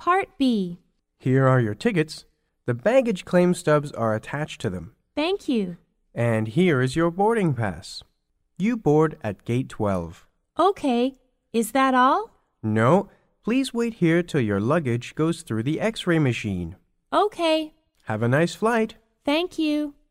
Part B. Here are your tickets. The baggage claim stubs are attached to them. Thank you. And here is your boarding pass. You board at gate 12. Okay. Is that all? No, please wait here till your luggage goes through the X-ray machine. Okay. Have a nice flight. Thank you.